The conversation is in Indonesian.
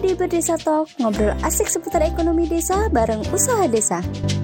di Berdesa Talk, ngobrol asik seputar ekonomi desa bareng usaha desa.